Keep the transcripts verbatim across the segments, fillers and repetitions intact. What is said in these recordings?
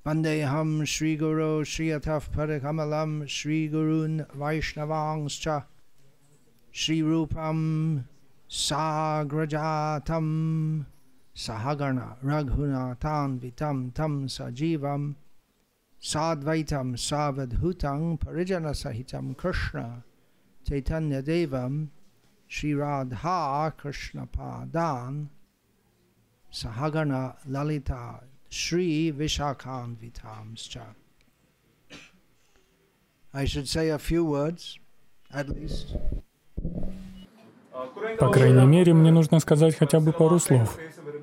Vandeham Shri Guru Shri Ataf Padakamalam Shri Gurun Vaishnavangscha Shri Rupam Sagrajatam Sahagana Raghunathan Vitam Tam Sajivam Sadvaitam Savadhutang Parijana Sahitam Krishna Chaitanya Devam Shri Radha Krishna Padan Sahagana Lalita Shri Vishakhan Vitamscha. I should say a few words, at least. По крайней мере, мне нужно сказать хотя бы пару слов.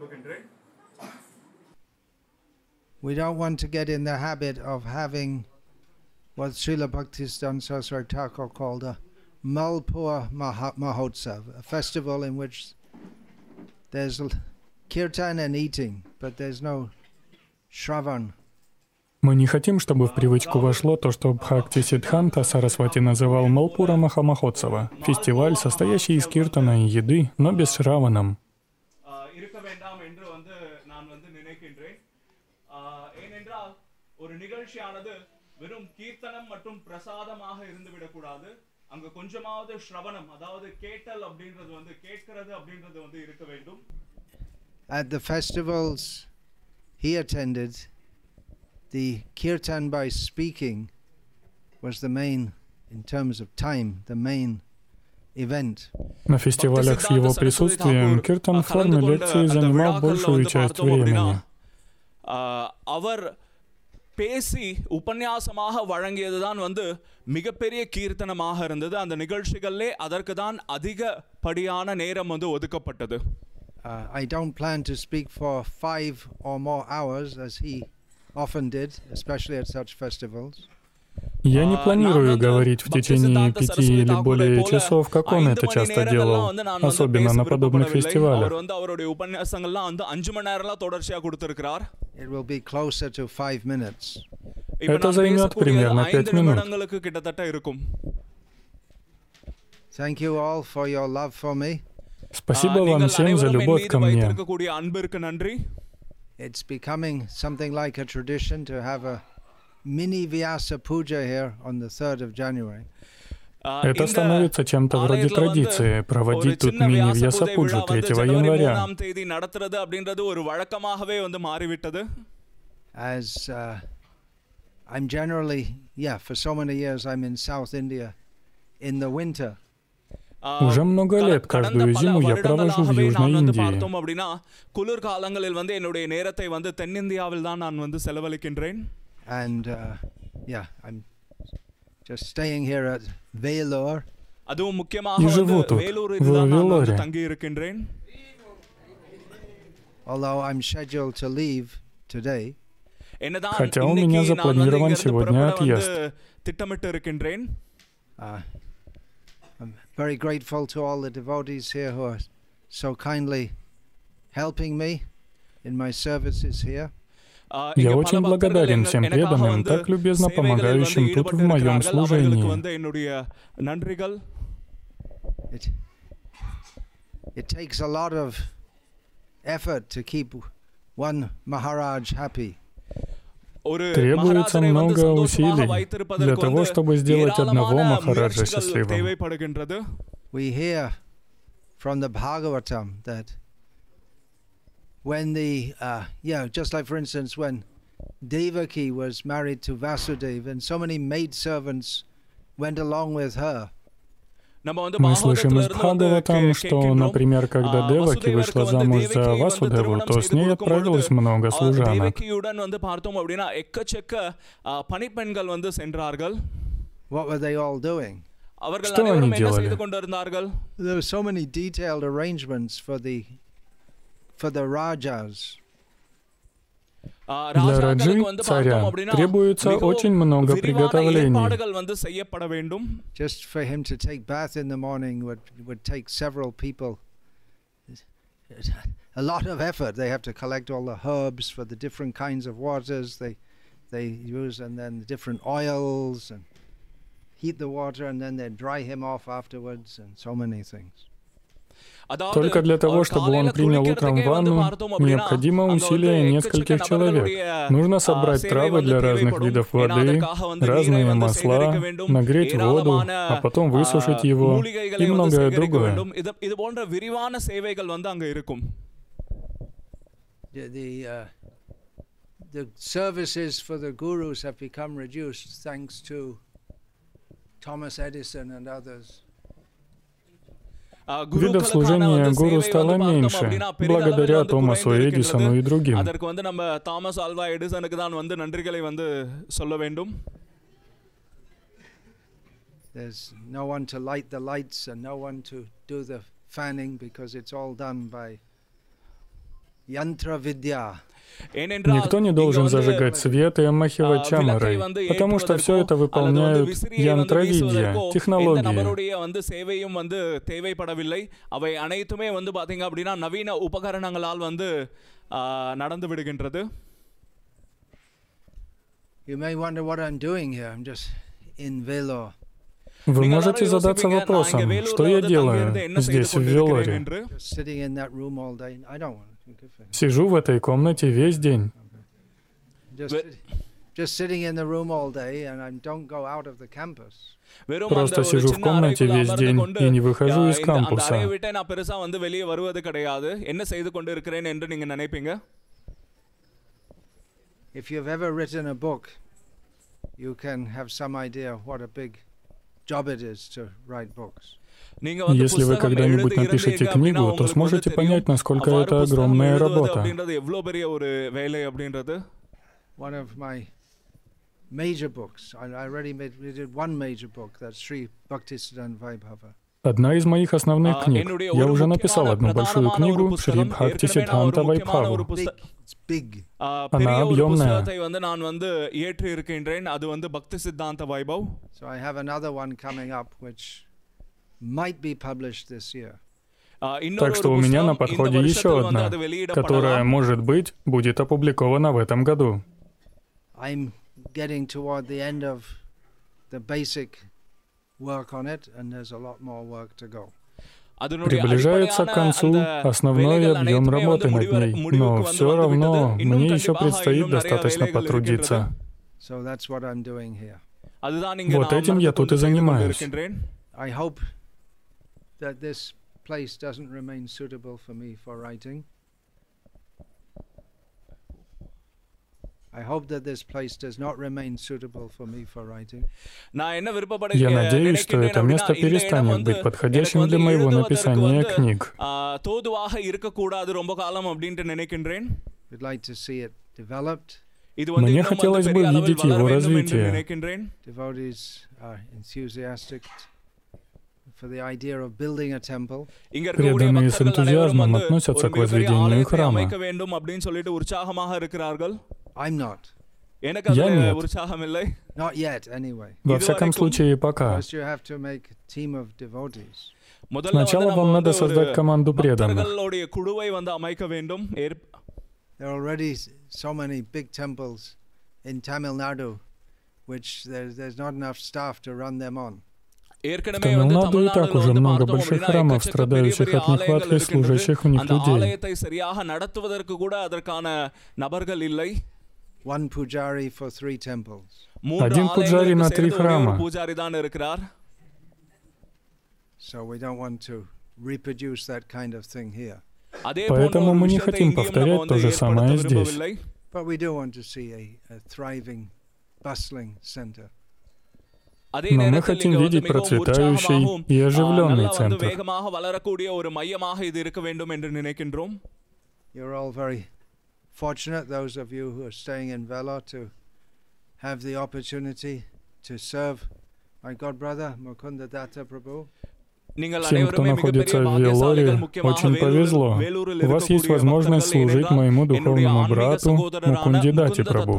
We don't want to get in the habit of having what Srila Bhaktisiddhanta Saraswati Thakur called a Malpur Mahotsav, a festival in which there's kirtan and eating, but there's no shravan. Мы не хотим, чтобы в привычку вошло то, что Бхактисиддханта Сарасвати называл Малпура Махамахотсава, фестиваль, состоящий из киртана и еды, но без шраванам. At the festivals he attended, the kirtan by speaking was the main, in terms of time, the main event. На фестивалях с его присутствием киртан в форме лекции занимал большую часть времени. பேசி உபன்யாசமாக வழங்கியதுதான் வந்து மிகப்பெரிய கீர்த்தனமாக இருந்தது. அந்த நிகழ்ச்சிகளிலே அதற்கு தான் அதிகப்படியான நேரம் வந்து ஒதுக்கப்பட்டது. I don't plan to speak for five or more hours as he often did, especially at such festivals. Я не планирую говорить в течение пяти или более часов, как он это часто делал, особенно на подобных фестивалях. It will be closer to five minutes. Это займет примерно пять минут. Thank you all for your love for me. Спасибо вам всем за любовь ко мне. It's becoming something like a tradition to have a mini Vyasa Puja here on the third of January. Это становится чем-то вроде традиции проводить тут мини-Вьясапуджу третьего января. As uh, I'm generally, yeah, for so many years I'm in South India in the winter. Уже много лет каждую зиму я провожу в Южной Индии. And uh, yeah, I'm just staying here at Vellore. И живу тут, в Велоре. Although I'm scheduled to leave today. Хотя у меня запланирован сегодня отъезд. Uh, I'm very grateful to all the devotees here who are so kindly helping me in my services here. Я очень благодарен всем преданным, так любезно помогающим тут в моем служении. It, it takes a lot of effort to keep one Maharaj happy. Требуется много усилий для того, чтобы сделать одного Махараджа счастливым. We hear from the Bhagavatam that when the, uh, yeah, just like for instance when Devaki was married to Vasudeva and so many maidservants went along with her. Мы слышим из Бхагаватам, что, например, когда Деваки вышла замуж за Васудеву, то с ней отправилось много служанок. What were they all doing? Что они делали? There were so many detailed arrangements for the for the Rajas. Для Раджи, царя, требуется очень много приготовлений. Just for him to take bath in the morning would would take several people a lot of effort. They have to collect all the herbs for the different kinds of waters they they use, and then the different oils, and heat the water, and then they dry him off afterwards, and so many things. Только для того, чтобы он принял утром ванну, необходимо усилие нескольких человек. Нужно собрать травы для разных видов воды, разные масла, нагреть воду, а потом высушить его и многое другое. இது போன்ற விரிவான சேவைகள் வந்து அங்க இருக்கும். The, the, uh, the services for the gurus have become reduced thanks to Thomas Edison and others. Видов служения гуру стало меньше, благодаря Томасу Эдисону и другим. அதற்கு வந்து நம்ம தாமஸ் ஆல்வா எடிசனுக்கு தான் வந்து நன்றிகளை வந்து சொல்ல வேண்டும். There's no one to light the lights and no one to do the fanning because it's all done by yantra vidya. Никто не должен зажигать свет и омахивать чамарой, потому что все это выполняют янтравидья, технологии. வந்து சேவையும் வந்து தேவைப்படவில்லை. அவை அனைத்துமே வந்து பாத்தீங்க அப்படினா நவீன உபகரணங்களால் வந்து நடந்து விடுகின்றது. You may wonder what I'm doing here. I'm just in Vellore. Вы можете задаться вопросом, что я делаю здесь, в Велоре. Sitting in that room all day. I don't want to. Сижу в этой комнате весь день. Just, just sitting in the room all day and I don't go out of the campus. Просто сижу в комнате весь день и не выхожу из кампуса. அறையை விட்டு நான் பெருசா வந்து வெளியே வருவது கிடையாது. என்ன செய்து கொண்டு இருக்கிறேன் என்று நீங்க நினைப்பீங்க? If you've ever written a book, you can have some idea what a big job it is to write books. Если вы когда-нибудь напишете книгу, то сможете понять, насколько это огромная работа. One of my major books, I already made, we did one major book, that's Sri Bhaktisiddhanta Vaibhava. Одна из моих основных книг. Я уже написал одну большую книгу Шри Бхактисиддханта Вайбхаву. Она объемная. So I have another one coming up which might be published this year. Так что у меня на подходе еще одна, которая, может быть, будет опубликована в этом году. I'm getting toward the end of the basic work on it, and there's a lot more work to go. Приближается к концу основной объем работы над ней, но все равно мне еще предстоит достаточно потрудиться. So that's what I'm doing here. Вот этим я тут и занимаюсь. I hope that this place doesn't remain suitable for me for writing. I hope that this place does not remain suitable for me for writing. Я надеюсь, что это место перестанет быть подходящим для моего написания книг. We'd like to see it developed. Мне хотелось бы видеть его развитие. Devotees are enthusiastic for the idea of building a temple. Преданные с энтузиазмом относятся к возведению храма. I'm not. Я нет. Not yet, anyway. Во всяком случае, пока. First you have to make a team of devotees. Сначала вам надо создать команду преданных. There are already so many big temples in Tamil Nadu, which there's, there's not enough staff to run them on. В Тамилнаду и так уже много больших храмов, страдающих от нехватки служащих в них людей. One pujari for three temples. Один пуджари на три храма. So we don't want to reproduce that kind of thing here. Поэтому мы не хотим повторять то же самое здесь. But we do want to see a, a thriving, bustling center. Но мы хотим видеть процветающий и оживленный центр. You're all very fortunate, those of you who are staying in Vellore, to have the opportunity to serve my god brother Mukunda Datta Prabhu. Всем, кто находится в Велоре, очень повезло. У вас есть возможность служить моему духовному брату Мукунде Датти Прабhu.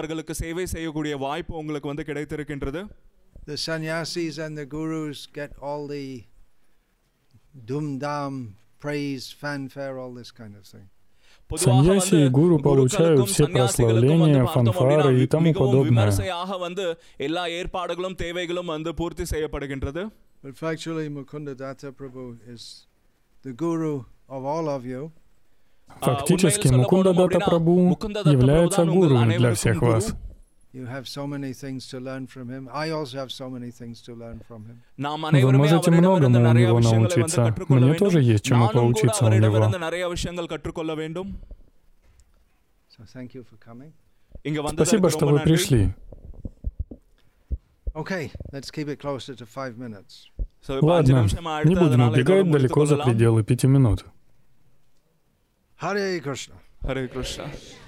The sannyasis and the gurus get all the dum-dam, praise, fanfare, all this kind of thing. Саньяси и гуру получают все прославления, фанфары и тому подобное. But factually, Mukunda Datta Prabhu is the guru of all of you. Фактически, Мукунда Датта Прабху является гуру для всех вас. You have so many things to learn from him. I also have so many things to learn from him. Вы можете многому у него научиться. Мне тоже есть чему поучиться у него. So thank you for coming. Спасибо, что вы пришли. Okay, let's keep it closer to five minutes. Ладно, не будем убегать далеко за пределы пяти минут. Hare Krishna. Hare Krishna.